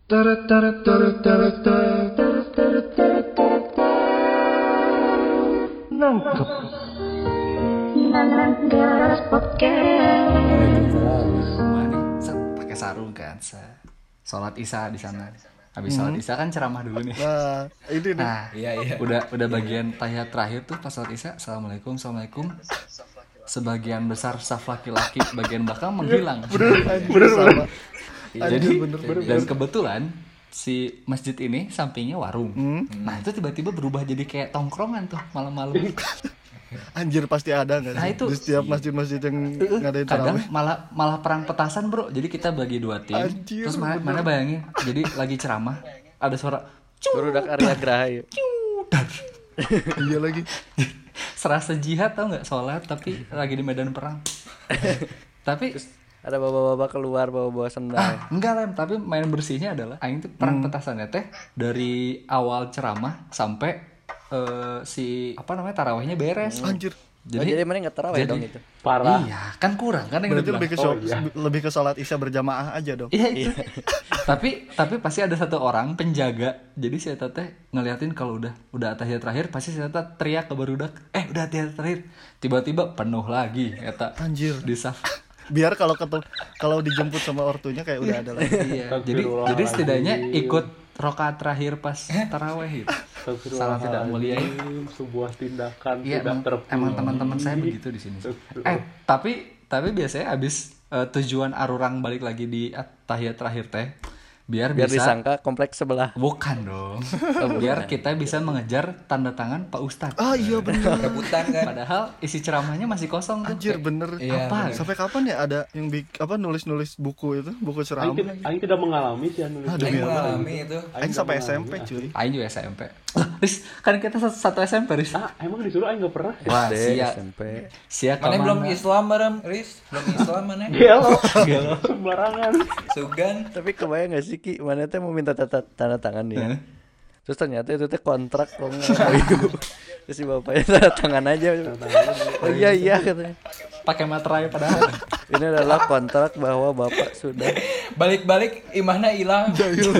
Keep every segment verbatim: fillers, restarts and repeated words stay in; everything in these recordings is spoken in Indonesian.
Nangkep. Nananggas podcast. Pakai sarung kan, sholat isya di sana. Habis sholat isya kan ceramah dulu nih. Nah, ini nih. Nah, iya iya. Udah udah bagian tahiyat terakhir tuh pas sholat isya, assalamualaikum, assalamualaikum. Sebagian besar saf laki-laki bagian belakang menghilang. Bener, bener, sama. Jadi bener, bener, dan bener. kebetulan si masjid ini sampingnya warung. Hmm. Nah itu tiba-tiba berubah jadi kayak tongkrongan tuh malam-malam. Anjir pasti ada nggak sih? Nah, itu, di setiap masjid-masjid yang ngadain kadang tarawih. malah malah perang petasan bro. Jadi kita bagi dua tim. Anjir, terus mana, mana bayangin, jadi lagi ceramah ada suara Barudak Arya Graha. Iya lagi. serasa jihad tau nggak, sholat tapi lagi di medan perang. Tapi Ada bapak-bapak keluar bawa-bawa sendal. ah, enggak lem, tapi main bersihnya adalah aing tuh perang petasannya teh dari awal ceramah sampai uh, si apa namanya tarawihnya beres. Anjir. Jadi, oh, jadi mana nggak tarawih jadi- dong itu. Parah. Iya, kan kurang kan yang Berarti udah lebih ke bilang. sholat, lebih ke sholat isya berjamaah aja dong. Iya itu. tapi tapi pasti ada satu orang penjaga. Jadi si eta teh ngeliatin kalau udah udah tahiyat terakhir pasti si eta teriak ke barudak, "Eh, udah tahiyat terakhir." Tiba-tiba penuh lagi eta. Anjir. Di saf. Biar kalau ketemu kalau dijemput sama ortunya kayak udah ada lagi. Iya. Jadi jadi setidaknya ikut rakaat terakhir pas tarawih itu. Salah tidak mulia. Sebuah tindakan Iya, tidak emang, terpuji. emang teman-teman saya begitu di sini. Eh, tapi tapi biasanya abis eh, tujuan arurang balik lagi di tahiyat terakhir teh, biar, Biar bisa disangka kompleks sebelah. bukan dong. Biar kita bisa mengejar tanda tangan Pak Ustadz. Ah iya bener. rebutan kan. Padahal isi ceramahnya masih kosong tuh. Anjir bener. Iya, Apa? Sampai kapan ya ada yang bik apa nulis-nulis buku itu, buku Aing ceramah? tidak, Aing tidak mengalami sih yang nulis. Aduh, Aing iya, mengalami itu. Aing sampai S M P cuy. Aing juga S M P. Lah, Riz, kan kita satu, satu S M P, Riz. Ah, emang disuruh Aing nggak pernah. Wah, S D, sia. S M P. Sia Mana kemana? belum Islam bareng, Riz? Belum Islam mana? Gelo. Sembarangan. Sugan. Tapi kebayang gak sih Ki, mana teh mau minta tata, tanda tangan nih. Heeh. Terus ternyata itu teh kontrak kok nggak. Terus si bapaknya tanda tangan aja. Oh iya iya katanya. Pakai materai padahal. Ini adalah kontrak bahwa bapak sudah Balik-balik imahna hilang.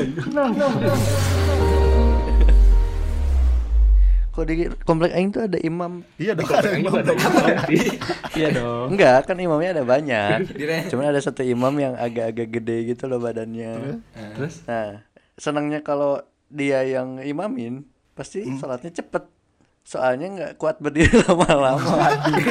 kok di komplek aing tuh ada imam. Iya dong. Ada Aing yang juga ada Iya dong. Enggak, kan imamnya ada banyak. Dire. Cuman ada satu imam yang agak-agak gede gitu loh badannya. Terus Nah, senangnya kalau dia yang imamin, pasti sholatnya cepet. Soalnya nggak kuat berdiri lama-lama.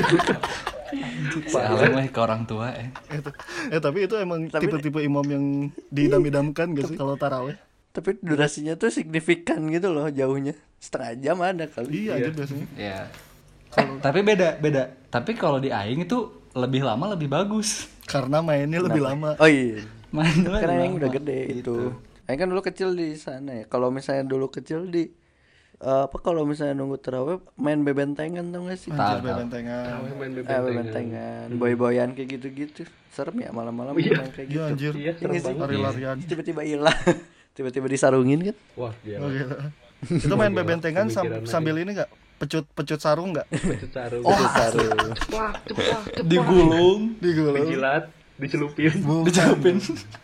salam lah ke orang tua eh. Itu. Eh tapi itu emang Tapi- tipe-tipe imam yang diidam-idamkan gak sih kalau tarawih? Tapi durasinya tuh signifikan gitu loh jauhnya. Setengah jam ada kali. Iya aja biasanya. Iya. Eh, tapi beda, beda. Tapi kalau di aing itu lebih lama lebih bagus. Karena mainnya lebih lama. Oh iya. Mainnya Karena lebih yang lama. udah gede itu. Aing kan dulu kecil di sana ya. Kalau misalnya dulu kecil di eh, apa kalau misalnya nunggu tarawih main bebentengan tau gak sih? Tahu, Anjir tahu. bebentengan. Main Eh, bebentengan. bebentengan, boy-boyan kayak gitu-gitu. Serem ya malam-malam main kayak Iya gitu. anjir. Iya, serem Ini sih. banget. Lari-larian. Tiba-tiba hilang. Tiba-tiba disarungin kan? Wah, gila. Oh, gila. Itu main Gila, bebentengan sam- pemikiran sambil ini enggak? Pecut-pecut sarung enggak? Pecut sarung. Oh, sarung. Digulung, Digulung. Dijilat, dicelupin. dicelupin.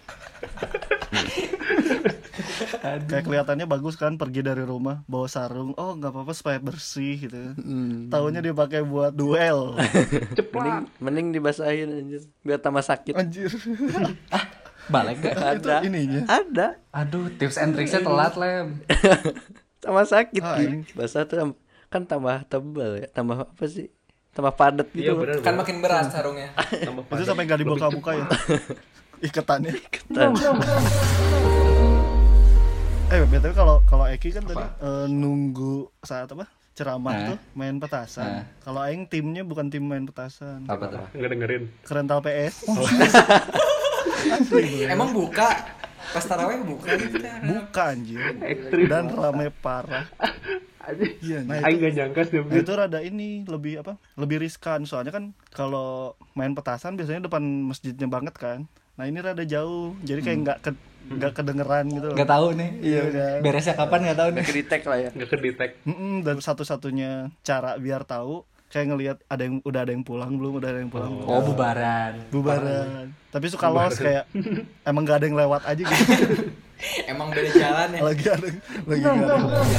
Kayak kelihatannya bagus kan pergi dari rumah bawa sarung. Oh, enggak apa-apa supaya bersih gitu. Hmm. Taunya dipakai buat duel. Mending, mending dibasahin anjir biar tambah sakit. Anjir. Balik gak? Ada. Itu ininya. Ada. Aduh, tips and tricksnya telat lem. Tambah sakit Ah, Ki. ini. Basah tuh tam- kan tambah tebal ya, tambah apa sih? Tambah padat gitu. Iya loh. benar. Kan makin berat sarungnya. Itu sampai enggak dibuka-buka ya. Ikatannya. Ketan. Eh, B T W kalau kalau Eki kan tadi eh, nunggu saat apa? Ceramah Nah. tuh main petasan. Nah. Kalau aing timnya bukan tim main petasan. Apa tuh? Enggak dengerin. Kerental P S. Emang buka pas tarawih buka gitu kan. Buka anjir. Ekstrim. Dan rame parah. Iya, nah Aing itu, gak nyangka sih. nah itu rada ini lebih apa? Lebih riskan soalnya kan kalau main petasan biasanya depan masjidnya banget kan. Nah ini rada jauh, jadi kayak nggak ke nggak kedengeran gitu loh. Gak tahu nih. Iya, kan? Beresnya kapan gak tahu nih. Nggak kedetek lah ya. Nggak kedetek. Mm-mm, dan satu-satunya cara biar tahu kayak ngelihat ada yang udah ada yang pulang belum, udah ada yang pulang belum. Oh, bubaran. Bubaran. Tapi suka los kayak emang gak ada yang lewat aja gitu. Emang beda jalan ya. lagi ada lagi ada.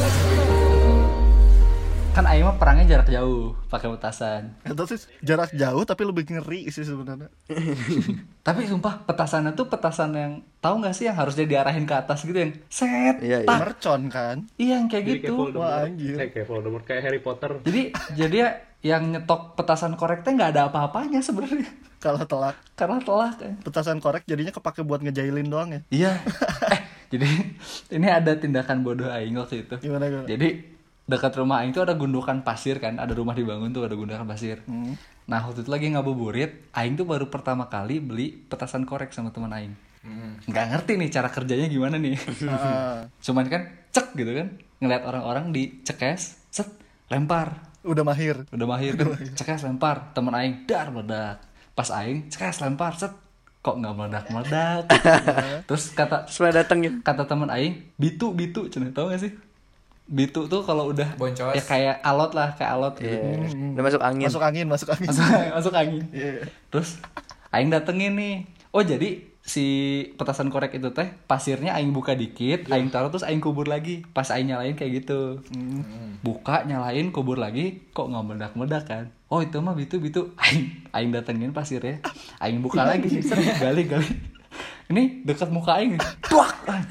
Kan aing mah perangnya jarak jauh pakai petasan. Itu sih jarak jauh tapi lebih ngeri sih sebenarnya. Tapi sumpah petasannya tuh petasan yang tahu nggak sih yang harusnya diarahin ke atas gitu yang set. Iya, iya. tak. Mercon kan. Iya yang kayak Jadi gitu. kayak Voldemort. Wah, anjir. Eh, kayak Voldemort, kayak Harry Potter. Jadi jadi ya yang nyetok petasan koreknya nggak ada apa-apanya sebenarnya. Kalau telak Karena telah kan. petasan korek jadinya kepake buat ngejailin doang ya. Iya. eh jadi ini ada tindakan bodoh aing waktu itu. Gimana gimana? Jadi dekat rumah aing tuh ada gundukan pasir kan, ada rumah dibangun tuh ada gundukan pasir. Hmm. Nah waktu itu lagi ngabuburit, aing tuh baru pertama kali beli petasan korek sama teman aing. Nggak ngerti nih cara kerjanya gimana nih. Ah, Cuman kan cek gitu kan, ngeliat orang-orang dicekes, set, lempar, udah mahir. udah mahir kan, cekes lempar, teman aing dar meledak. Pas aing cekes lempar, set, kok nggak meledak meledak. Terus kata Supaya datengin. kata teman aing, bitu bitu, cina tau gak sih? Bitu tuh kalau udah Boncos. ya kayak alot lah, kayak alot gitu. Iya. Udah masuk angin. Masuk angin, masuk angin. Masuk, masuk angin. Iya. Terus aing datengin nih. Oh jadi si petasan korek itu teh pasirnya aing buka dikit, aing taruh terus aing kubur lagi. Pas aing nyalain kayak gitu. Buka, nyalain, kubur lagi, kok nggak meledak-meledak kan? Oh itu mah bitu bitu. Aing aing datengin pasirnya. Aing buka lagi, set, gali gali. Ini dekat muka aing. Tuak.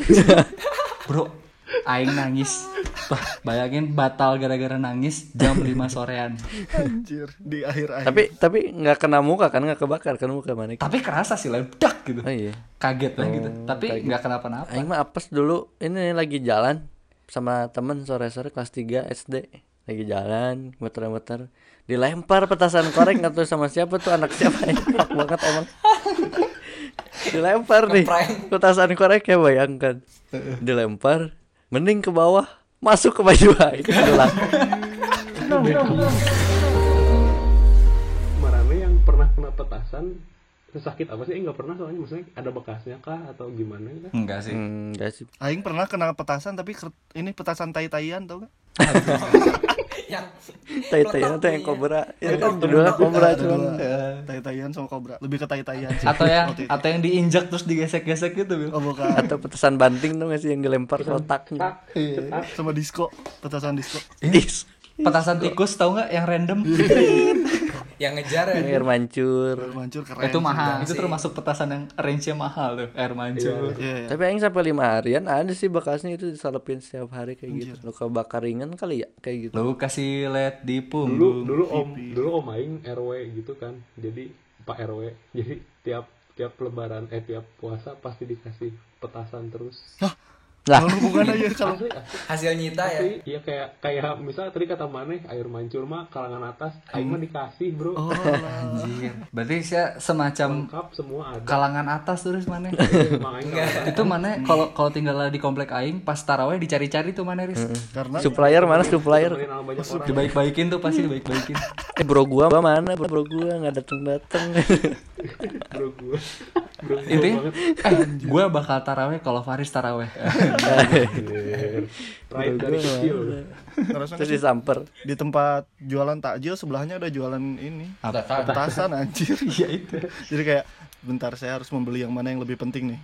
Bro, aing nangis. Bah, bayangin batal gara-gara nangis jam lima sorean. Anjir, di akhir akhir. Tapi tapi nggak kena muka kan, nggak kebakar kan muka mana? Tapi kerasa sih ledak gitu. Oh iya. Kaget lah gitu. Tapi kaget. nggak kenapa-napa. Aing mah apes dulu. Ini lagi jalan sama temen sore-sore kelas tiga S D. Lagi jalan, muter-muter. Dilempar petasan korek nggak tahu sama siapa tuh, anak siapa ya. Enak banget emang. Dilempar nih. Ngeprank. Petasan korek ya, bayangkan. Dilempar, mending ke bawah, masuk ke baju aing. Hilang. Marane yang pernah kena petasan sesakit apa sih? Eh, nggak pernah soalnya, maksudnya ada bekasnya kah atau gimana kah? Enggak sih. Hmm, enggak sih. Aing pernah kena petasan tapi ker- ini petasan tai-taian tau gak? Yang Tai-taian tuh yang kobra. Ya kan kedua kobra cuman. Tai-taian sama kobra. Lebih ke tai-taian sih. Atau yang waktu itu. atau yang diinjak terus digesek-gesek gitu, Bil. Oh bukan. Atau petasan banting tuh nggak sih yang dilempar ke otaknya. Sama disco, petasan disco. Is. Petasan tikus tahu nggak yang random? yang ngejar ya. Air mancur. Mancur keren. Itu sih. mahal. Itu termasuk petasan yang range-nya mahal tuh, air mancur. Iya, iya. Tapi aing sampai lima harian ada sih bekasnya itu disalepin setiap hari kayak gitu. Luka bakar ringan kali ya kayak gitu. Lu kasih led di Dulu punggung. dulu om dulu om aing R W gitu kan. Jadi Pak R W. Jadi tiap tiap lebaran eh tiap puasa pasti dikasih petasan terus. Lah, Kalau hubungan aja kalau Asli, asli. Hasil nyita ya. Tapi iya kayak kayak misal tadi kata Maneh air mancur mah kalangan atas, aing mah dikasih, Bro. oh, Anjir. Berarti saya semacam Lengkap semua ada. kalangan atas terus mana? Emang aing kalangan Itu mana kalau kalau tinggal di komplek aing pas taraweh dicari-cari tuh mana Riz? karena supplier mana supplier? temenin sama banyak orang. Dibaik-baikin tuh pasti dibaik-baikin. Eh bro gua mana? Bro gua nggak dateng dateng. Bro gua. Bro gua Intinya, banget. eh gue bakal taraweh kalau Faris taraweh. Pride dari kecil. ngerasa Terus disamper. di tempat jualan takjil sebelahnya ada jualan ini Apa? petasan anjir. Iya itu. Jadi kayak bentar saya harus membeli yang mana yang lebih penting nih.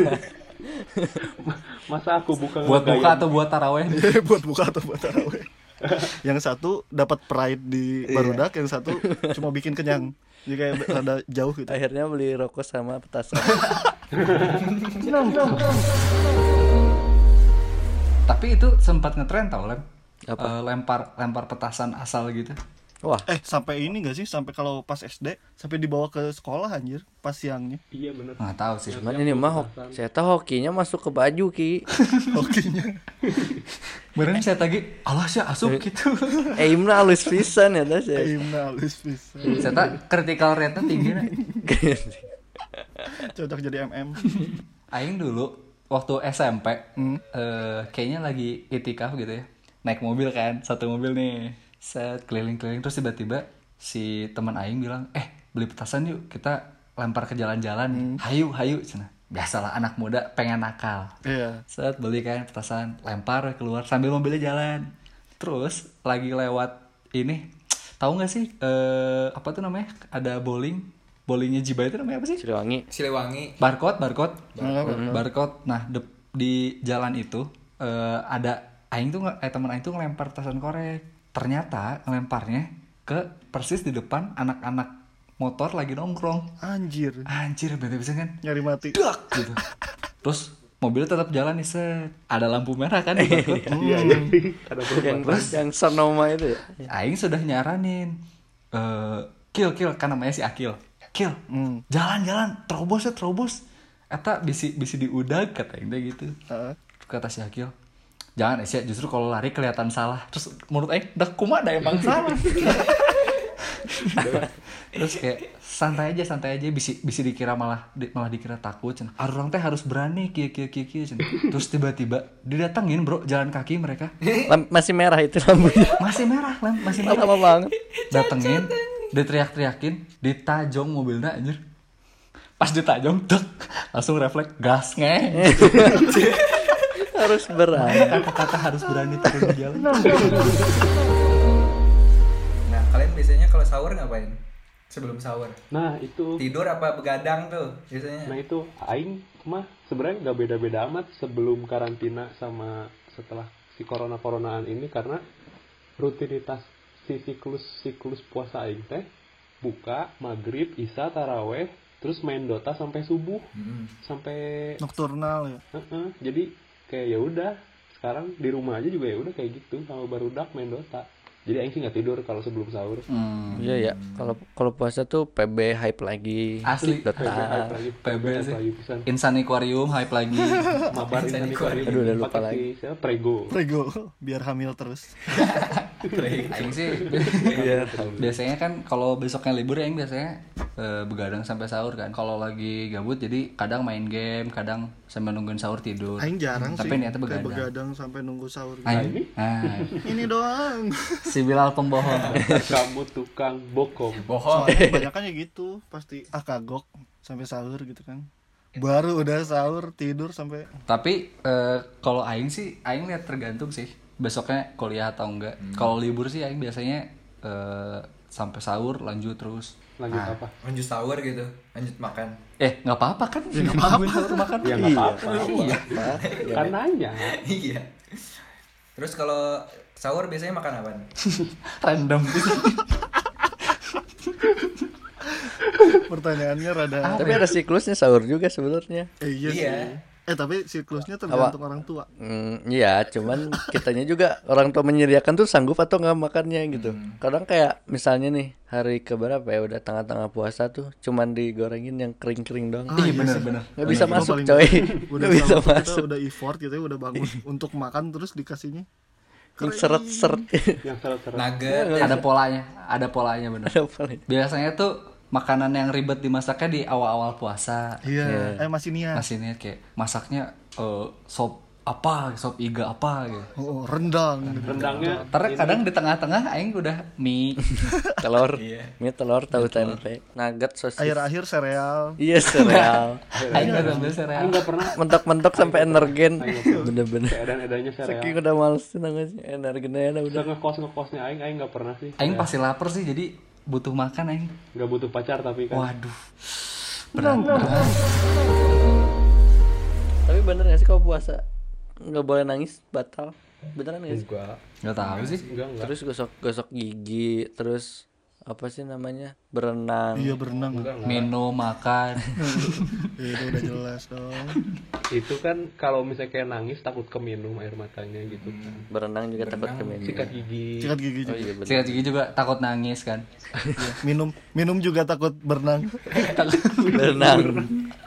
Masa aku buka Buat buka ngegayam? atau buat taraweh? buat buka atau buat taraweh. Yang satu dapat pride di barudak, yang satu cuma bikin kenyang. Jadi kayak rada jauh gitu. Akhirnya beli rokok sama petasan. Tapi itu sempat ngetren tau Lem. Apa? Eh, lempar lempar petasan asal gitu. Wah, Eh sampai ini gak sih, sampai kalau pas S D sampai dibawa ke sekolah anjir pas siangnya. Iya bener. Nggak tahu sih. cuman ini mah hok, saya tahu hokinya masuk ke baju ki. Hokinya. Beneran saya tadi, alah sih asup gitu. Aimnya halus pisan ya tas ya. Aimna halus bisa. Saya tak critical rate-nya tinggi nih. Cocok jadi M M. Aing dulu waktu S M P Hmm. eh, kayaknya lagi itikaf gitu ya. Naik mobil kan, satu mobil nih. Set keliling-keliling terus tiba-tiba si teman Aing bilang, "Eh, beli petasan yuk, kita lempar ke jalan-jalan." Hayu, hayu cenah. Biasalah anak muda pengen nakal. Iya. Set beli kan petasan, lempar keluar sambil mobilnya jalan. Terus lagi lewat ini, tahu nggak sih eh apa tuh namanya? Ada bowling, bowlingnya Jiba itu namanya apa sih? Siliwangi. Siliwangi. Barcode, barcode, Nah, barcode. Nah, dep- di jalan itu eh, ada aing tuh nge- eh teman aing tuh ngelempar petasan korek. Ternyata ngelemparnya ke persis di depan anak-anak motor lagi nongkrong. Anjir. Anjir, bete bisa kan? Nyari mati. Dak gitu. Terus mobil tetap jalan nih, set. Ada lampu merah kan di bakut. Iya, jadi ada yang perubahan. yang Sonoma itu ya. Aing sudah nyaranin eh Kil, Kil, kan namanya si Akil. Kil, Hmm. jalan-jalan, terobos ya, terobos. Eta bisi bisi diudag kata Aing teh gitu. Heeh. Kata si Akil, jangan Asia, justru kalau lari kelihatan salah. Terus menurut Aing, dah kumaha emang salah. Terus kayak santai aja, santai aja, bisi bisi dikira malah di, malah dikira takut. Cen. Arurang teh harus berani, kia kia kia kia. Cen. Terus tiba-tiba didatengin bro, jalan kaki mereka. Lam- masih merah itu lampunya. Masih merah, lem, masih merah. Lama banget. Datengin, diteriak-teriakin, ditajong mobilnya anjir. Pas ditajong, dek, langsung refleks gas nge. Harus berani. Kata-kata harus berani turun di jalan. Nah, kalian biasanya kalau sahur ngapain? Sebelum sahur. Nah itu, Tidur apa begadang tuh biasanya? nah itu Aing mah sebenarnya nggak beda-beda amat sebelum karantina sama setelah si corona-coronaan ini, karena rutinitas si siklus siklus puasa Aing teh buka maghrib, isya, taraweh, terus main Dota sampai subuh, Hmm. sampai Nocturnal ya. Heeh, jadi kayak ya udah sekarang di rumah aja juga ya udah kayak gitu sama barudak main Dota. Jadi Aing sih nggak tidur kalau sebelum sahur. Hmm. Iya ya. Kalau kalau puasa tuh P B hype lagi. Asli. Dota. Hype lagi, P B hype sih. lagi pisan. Insan Aquarium hype lagi. Mabar Insan Aquarium. Aduh, udah lupa Pakai lagi. si siapa? Prego. Prego biar hamil terus. Aing sih biasanya kan kalau besoknya libur ya Aing biasanya eh, begadang sampai sahur kan. Kalau lagi gabut jadi kadang main game, kadang sambil nungguin sahur tidur. Aing jarang Tapi sih. niatnya kayak begadang. begadang sampai nunggu sahur. Aing. Nah, Ini doang. si Bilal pembohong. Kamu tukang bokong. Bohong. Soalnya kebanyakan ya gitu, pasti ah kagok sampai sahur gitu kan. Baru udah sahur tidur sampai Tapi eh, kalau Aing sih, Aing lihat tergantung sih. Besoknya kuliah atau enggak. Kalau libur sih Aing biasanya eh, sampai sahur lanjut terus. Lanjut Ah. apa? Lanjut sahur gitu. Lanjut makan. Eh nggak apa-apa kan? Ya, nggak apa-apa sahur makan. Ya nggak apa-apa. Iya. Kan nanya. Iya. Terus kalau sahur biasanya makan apa? Random gitu. pertanyaannya rada Tapi ada siklusnya sahur juga sebenarnya. eh, iya, Iya. sih. Eh tapi siklusnya tergantung orang tua. Hmm, iya, cuman kitanya juga orang tua menyediakan tuh sanggup atau nggak makannya gitu. Kadang kayak misalnya nih hari keberapa ya udah tengah-tengah puasa tuh, cuman digorengin yang kering-kering doang. Ah, Iya iya benar sih. benar. Nggak bisa Gua masuk paling coy. Udah Nggak bisa sama kita masuk. udah effort gitu ya, udah bangun untuk makan terus dikasihnya Yang seret-seret. Yang seret-seret. Nugget. Ada polanya, ada polanya benar. Ada apa nih? Biasanya tuh makanan yang ribet dimasaknya di awal-awal puasa. Iya, eh masih niat. Masih niat kayak masaknya eh, sop apa, sop iga apa gitu. Oh, rendang. Rendangnya Ntar kadang di tengah-tengah aing udah mie. Telur. Mie telur tahu tempe. Nugget sosis. Akhir-akhir sereal. Iya sereal. Aing udah ambil sereal. Aing nggak pernah. Mentok-mentok sampai energen. Bener-bener. Edan-edannya sereal. Saking udah males nangis energennya udah. Udah ngekos ngekosnya Aing, Aing nggak pernah sih. Aing pasti lapar sih jadi butuh makan aing. Nggak butuh pacar tapi kan. Waduh. Berat, berat. Tapi bener gak sih kalau puasa nggak boleh nangis batal? Beneran gak sih? Enggak. Enggak tahu sih. Enggak enggak. Terus gosok-gosok gigi, terus apa sih namanya? Berenang. Iya berenang. Enggak enggak. Minum, makan. Ya, itu udah jelas dong. Itu kan kalau misalnya kayak nangis takut keminum air matanya gitu kan. Berenang juga takut keminum. Sikat gigi. Sikat gigi Oh juga. iya bener. Sikat gigi juga takut nangis kan. Iya. Minum minum juga takut berenang. Berenang.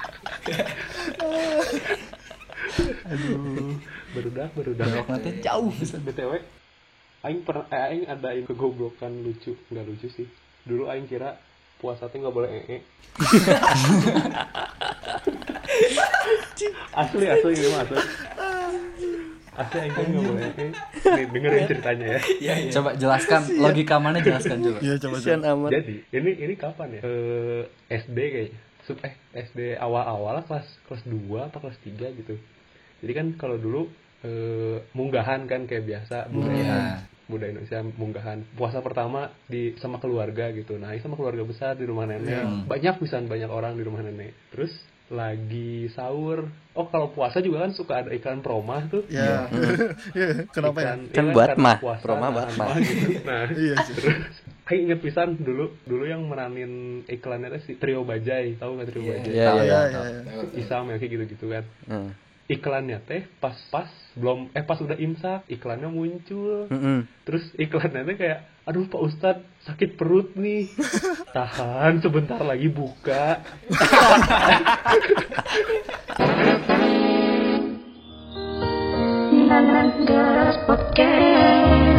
Aduh. Berudak berudak. Belok nanti jauh. B T W Aing pernah eh, Aing adain kegoblokan lucu. Nggak lucu sih. Dulu Aing kira puasa tuh nggak boleh ee. asli asli ini mah asli. Asli Aing kan nggak boleh ee. Nih dengerin ceritanya ya. Iya, iya. Coba jelaskan logika mana jelaskan coba. Iya coba Kasian coba. amat. Jadi ini ini kapan ya? Eh, S D kayaknya. Sub eh S D awal-awal kelas kelas dua atau kelas tiga gitu. Jadi kan kalau dulu eh, munggahan kan kayak biasa budaya Iya. budaya Indonesia munggahan puasa pertama di sama keluarga gitu. Nah, ini sama keluarga besar di rumah nenek. Hmm. Banyak pisan banyak orang di rumah nenek. Terus lagi sahur. Oh kalau puasa juga kan suka ada iklan promah tuh. Ya. Ya, kenapa ya? Iklan, Kan iya buat karena mah, puasa, promah buat nahan mah. gitu. Nah, Iya sih. terus kayak inget pisan dulu dulu yang meranin iklannya teh si Trio Bajai, tahu nggak Trio Iya. Bajai? Iya, Iya, iya. iya. Isam ya kayak gitu-gitu kan. Heeh. Iklannya teh pas-pas belum eh pas udah imsak iklannya muncul. Heeh. Terus iklannya teh kayak aduh Pak Ustadz sakit perut nih. Tahan sebentar lagi buka. Nanas Podcast.